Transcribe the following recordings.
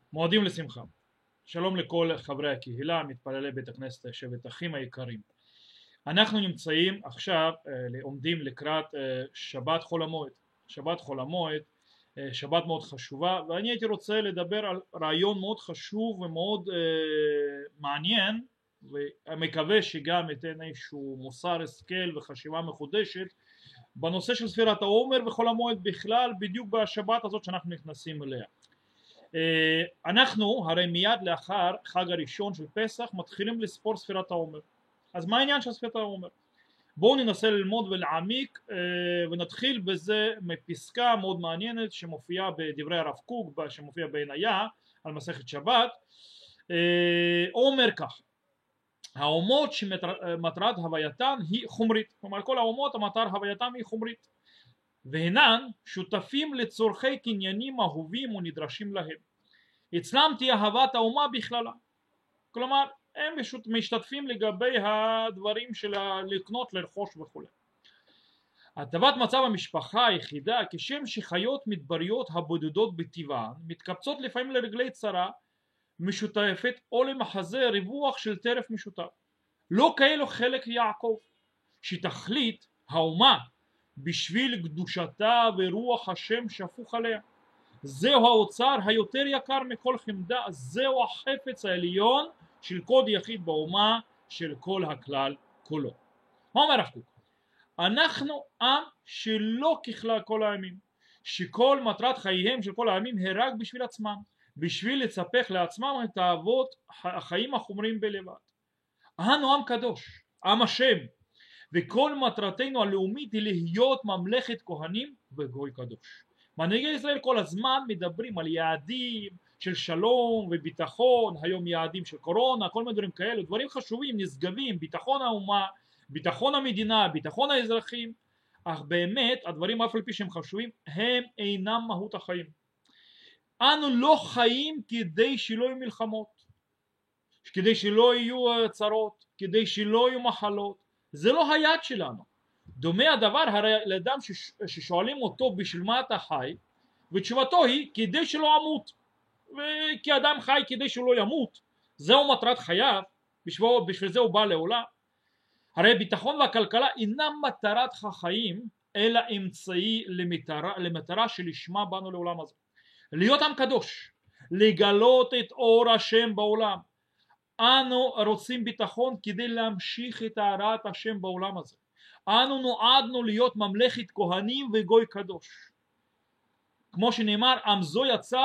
מועדים לשמחה. שלום לכל חברי הקהילה, מתפללי בית הכנסת שבט אחים היקרים. אנחנו נמצאים עכשיו, עומדים לקראת שבת חול המועד. שבת חול המועד, שבת מאוד חשובה, ואני הייתי רוצה לדבר על רעיון מאוד חשוב ומאוד מעניין, ומקווה שגם ייתן איזשהו מוסר השכל וחשיבה מחודשת בנושא של ספירת העומר וחול המועד בכלל, בדיוק בשבת הזאת שאנחנו נכנסים אליה. אנחנו הרי מיד לאחר חג הראשון של פסח מתחילים לספור ספירת העומר. אז מה העניין של ספירת העומר? בואו ננסה ללמוד ולהעמיק, ונתחיל בזה מפסקה מאוד מעניינת שמופיעה בדברי הרב קוק, שמופיעה בעניה על מסכת שבת. אומר כך: האומות שמטרת הווייתן היא חומרית, כלומר כל האומות המטר הווייתן היא חומרית, והנן שותפים לצורכי קניינים אהובים ונדרשים להם. אצלם תהיה אהבת האומה בכללה, כלומר הם משתתפים לגבי הדברים של לקנות, לרכוש וכו'. הטבת מצב המשפחה היחידה, כשם שחיות מדבריות הבודדות בטבען מתקבצות לפעמים לרגלי צרה משותפת או למחזה ריווח של טרף משותף, לא כאלו חלק יעקב, שתכלית האומה בשביל קדושתה ורוח השם שפוך עליה. זהו האוצר היותר יקר מכל חמדה, זהו החפץ העליון של כל יחיד באומה, של כל הכלל כולו. מה אומר הרב קוק? אנחנו עם שלא ככלל כל העמים, שכל מטרת חייהם של כל העמים היא רק בשביל עצמם, בשביל לספק לעצמם את תאוות החיים החומריים בלבד. אנו עם קדוש, עם השם, וכל מטרתנו הלאומית היא להיות ממלכת כהנים וגוי קדוש. מנהיגי ישראל כל הזמן מדברים על יעדים של שלום וביטחון, היום יעדים של קורונה, כל מיני דברים כאלה, דברים חשובים, נשגבים, ביטחון האומה, ביטחון המדינה, ביטחון האזרחים, אך באמת הדברים אף על פי שהם חשובים הם אינם מהות החיים. אנו לא חיים כדי שלא יהיו מלחמות, כדי שלא יהיו צרות, כדי לא יהיו מחלות, זה לא היעד שלנו. דומה הדבר הרי לאדם ששואלים אותו בשביל מה אתה חי, ותשובתו היא כדי שלא אמות, וכי אדם חי כדי שלא ימות, זהו מטרת חייו, בשביל זה הוא בא לעולם. הרי ביטחון והכלכלה אינם מטרת החיים, אלא אמצעי למטרה שלשמה באנו לעולם הזה. להיות עם קדוש, לגלות את אור השם בעולם. אנו רוצים ביטחון כדי להמשיך את הארת השם בעולם הזה. אנו נועדנו להיות ממלכת כהנים וגוי קדוש. כמו שנאמר, עם זו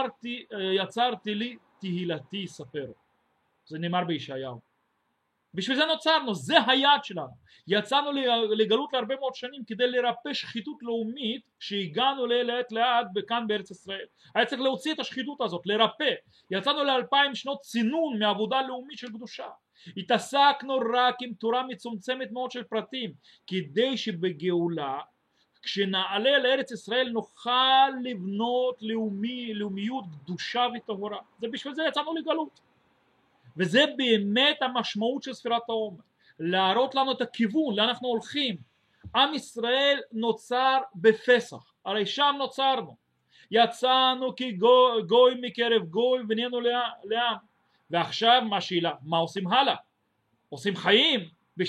יצרתי לי תהילתי יספרו. זה נאמר בישעיהו. בשביל זה נוצרנו, זה היעד שלנו. יצאנו לגלות להרבה מאוד שנים כדי לרפא שחיתות לאומית שהגענו לאט לאט כאן בארץ ישראל. היה צריך להוציא את השחיתות הזאת, לרפא. יצאנו ל2000 שנות צינון מעבודה לאומית של קדושה. התעסקנו רק עם תורה מצומצמת מאוד של פרטים, כדי שבגאולה, כשנעלה לארץ ישראל נוכל לבנות לאומיות קדושה וטהורה. זה בשביל זה יצאנו לגלות. וזה באמת המשמעות של ספירת העומר, להראות לנו את הכיוון, לאן אנחנו הולכים. עם ישראל נוצר בפסח, הרי שם נוצרנו, יצאנו כגוי מקרב גוי ונהיינו לעם, ועכשיו מה השאלה? מה עושים הלאה? עושים חיים,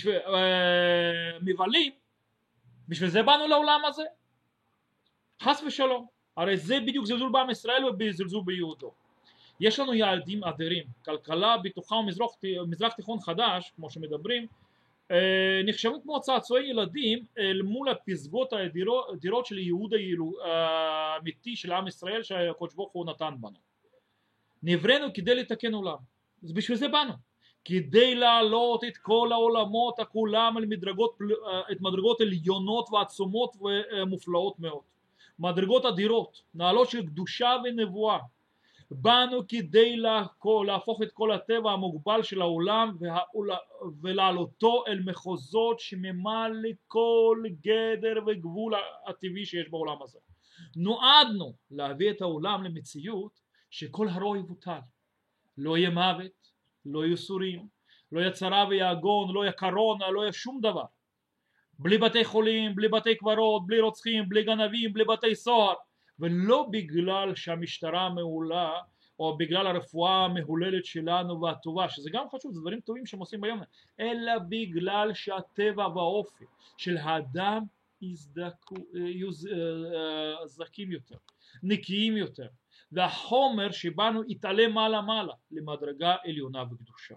מבלים, בשביל זה באנו לעולם הזה? חס ושלום, הרי זה בדיוק זלזול בעם ישראל ובזלזול ביהודו. יש לנו יעדים אדירים, כלכלה בטוחה ומזרח תיכון חדש, כמו שמדברים, נחשבים כמו צעצועי ילדים אל מול הפסגות האדירות של ייעוד האמיתי של עם ישראל שהקדוש ברוך הוא נתן בנו. נבראנו כדי לתקן עולם, אז בשביל זה באנו, כדי להעלות את כל העולמות כולם על מדרגות עליונות ועצומות ומופלאות מאוד, מדרגות אדירות, נעלות של קדושה ונבואה. באנו כדי להפוך את כל הטבע המוגבל של העולם ולהעלותו אל מחוזות שממלא כל גדר וגבול הטבעי שיש בעולם הזה. נועדנו להביא את העולם למציאות שכל הרוע יבוטל. לא יהיה מוות, לא יהיו סורים, לא יהיה צרה ויגון, לא יהיה קורונה, לא יהיה שום דבר. בלי בתי חולים, בלי בתי קברות, בלי רוצחים, בלי גנבים, בלי בתי סוהר. ולא בגלל שהמשטרה מעולה או בגלל הרפואה המהוללת שלנו והטובה, שזה גם חשוב, זה דברים טובים שהם עושים ביום, אלא בגלל שהטבע והאופי של האדם יהיו זכים יותר, נקיים יותר, והחומר שבנו יתעלה מעלה מעלה למדרגה עליונה וקדושה.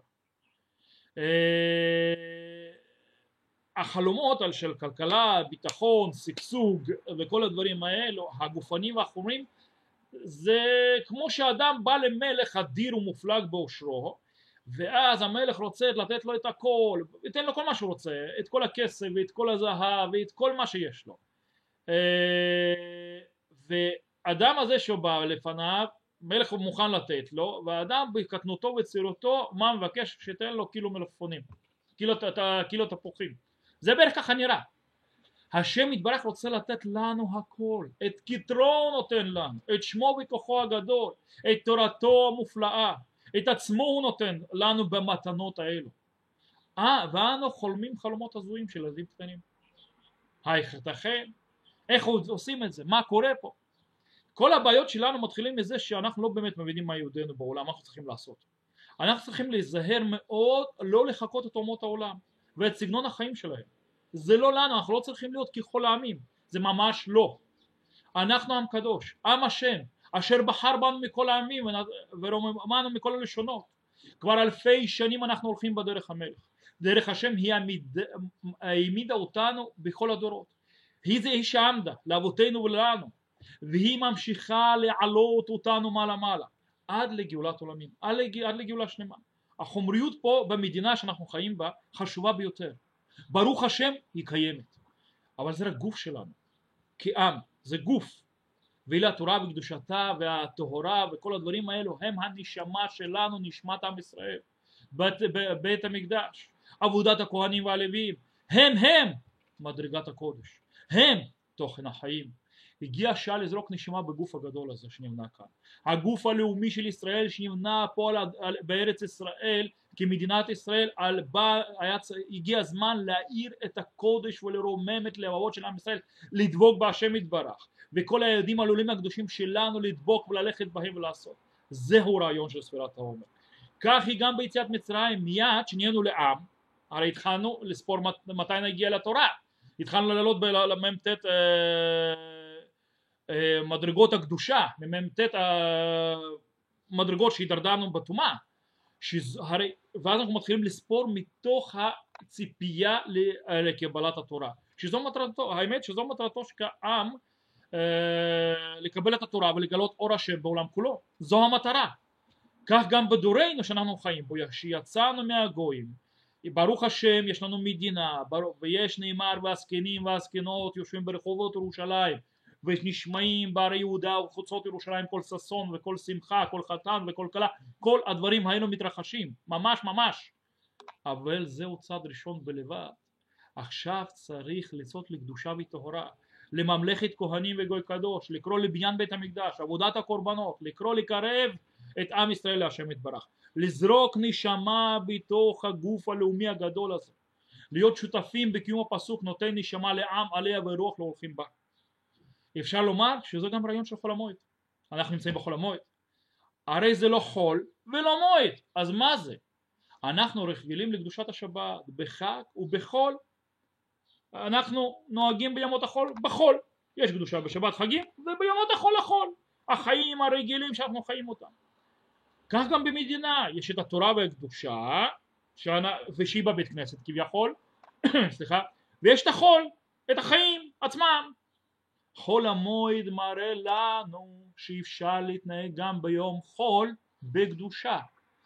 החלומות על של כלכלה, ביטחון, שגשוג וכל הדברים האלו, הגופנים והחומרים, זה כמו שאדם בא למלך אדיר ומופלג באושרו, ואז המלך רוצה לתת לו את הכל, ייתן לו כל מה שהוא רוצה, את כל הכסף ואת כל הזהב ואת כל מה שיש לו. ואדם הזה שבא לפניו, מלך מוכן לתת לו, והאדם בקטנותו וצעירותו, מה מבקש? שתן לו קילו מלפפונים, קילו תפוחים. זה בערך ככה נראה. השם יתברך רוצה לתת לנו הכל, את כתרו נותן לנו, את שמו וכוחו הגדול, את תורתו המופלאה, את עצמו הוא נותן לנו במתנות האלו. ואנו חולמים חלומות הזויים של ילדים קטנים. ייתכן? איך עושים את זה? מה קורה פה? כל הבעיות שלנו מתחילים מזה שאנחנו לא באמת מבינים מה יהודינו בעולם, מה אנחנו צריכים לעשות. אנחנו צריכים להיזהר מאוד לא לחכות את אומות העולם ואת סגנון החיים שלהם. זה לא לנו, אנחנו לא צריכים להיות ככל העמים, זה ממש לא. אנחנו עם קדוש, עם השם, אשר בחר בנו מכל העמים ורוממנו מכל הלשונות. כבר אלפי שנים אנחנו הולכים בדרך המלך. דרך השם היא העמידה אותנו בכל הדורות. היא שעמדה לאבותינו ולנו, והיא ממשיכה לעלות אותנו מעלה מעלה עד לגאולת עולמים, עד לגאולה שלמה. החומריות פה במדינה שאנחנו חיים בה חשובה ביותר. ברוך השם היא קיימת, אבל זה רק גוף שלנו כעם, זה גוף, ואלה התורה וקדושתה והטהרה וכל הדברים האלו הם הנשמה שלנו, נשמת עם ישראל, בית המקדש, עבודת הכהנים והלוויים, הם מדרגת הקודש, הם תוכן החיים. הגיע השעה לזרוק נשימה בגוף הגדול הזה שנבנה כאן, הגוף הלאומי של ישראל שנבנה פה בארץ ישראל כמדינת ישראל. הגיע הזמן להאיר את הקודש ולרומם את לבבות של עם ישראל, לדבוק בהשם יתברך, וכל היהודים הלולים הקדושים שלנו לדבוק וללכת בהם ולעשות. זהו רעיון של ספירת העומר. כך היא גם ביציאת מצרים, מיד שנהיינו לעם, הרי התחלנו לספור מתי נגיע לתורה, התחלנו לעלות במ"ט מדרגות הקדושה, ממ"ט מדרגות שהתדרדרנו בטומאה, ואז אנחנו מתחילים לספור מתוך הציפייה לקבלת התורה, שזו מטרתו, האמת שזו מטרתו כעם לקבל את התורה ולגלות אור השם בעולם כולו, זו המטרה. כך גם בדורנו שאנחנו חיים בו, שיצאנו מהגויים, ברוך השם יש לנו מדינה, ויש נאמר והזקנים והזקנות יושבים ברחובות ירושלים ונשמעים בערי יהודה ובחוצות ירושלים כל ששון וכל שמחה, כל חתן וכל כלה, כל הדברים האלו מתרחשים ממש ממש, אבל זהו צעד ראשון בלבד. עכשיו צריך לצאת לקדושה וטהרה, לממלכת כהנים וגוי קדוש, לקרוא לבניין בית המקדש, עבודת הקורבנות, לקרוא לקרב את עם ישראל להשם יתברך, לזרוק נשמה בתוך הגוף הלאומי הגדול הזה, להיות שותפים בקיום הפסוק נותן נשמה לעם עליה ורוח לא הולכים בה. אפשר לומר שזה גם רעיון של חול המועד. אנחנו נמצאים בחול המועד, הרי זה לא חול ולא מועד, אז מה זה? אנחנו רגילים לקדושת השבת בחג ובחול, אנחנו נוהגים בימות החול בחול, יש קדושה בשבת חגים ובימות החול החול, החיים הרגילים שאנחנו חיים אותם. כך גם במדינה יש את התורה והקדושה ושהיא בבית כנסת כביכול סליחה, ויש את החול, את החיים עצמם. חול המועד מראה לנו שאפשר להתנהג גם ביום חול בקדושה,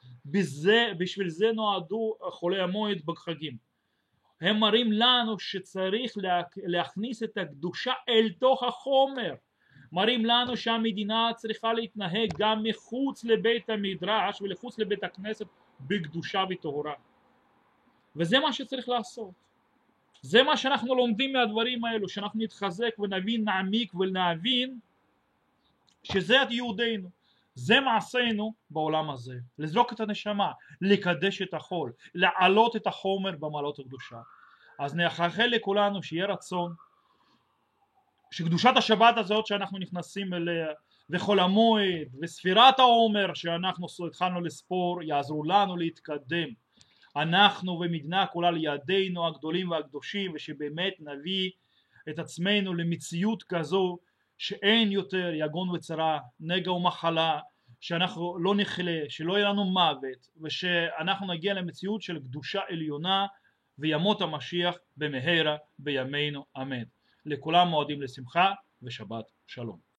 בשביל זה נועדו חולי המועד בחגים. הם מראים לנו שצריך להכניס את הקדושה אל תוך החומר, מראים לנו שהמדינה צריכה להתנהג גם מחוץ לבית המדרש ולחוץ לבית הכנסת בקדושה וטהרה, וזה מה שצריך לעשות. זה מה שאנחנו לומדים מהדברים האלו, שאנחנו נתחזק ונבין, נעמיק ונבין שזה יהודינו, זה מעשינו בעולם הזה, לזרוק את הנשמה, לקדש את החול, לעלות את החומר במעלות הקדושה. אז נאחל לכולנו שיהיה רצון שקדושת השבת הזאת שאנחנו נכנסים אליה וחול המועד וספירת העומר שאנחנו התחלנו לספור יעזרו לנו להתקדם, אנחנו ומדינה כולה לידינו הגדולים והקדושים, ושבאמת נביא את עצמנו למציאות כזו שאין יותר יגון וצרה, נגע ומחלה, שאנחנו לא נחלה, שלא יהיה לנו מוות, ושאנחנו נגיע למציאות של קדושה עליונה, וימות המשיח במהרה בימינו אמן. לכולם מועדים לשמחה ושבת שלום.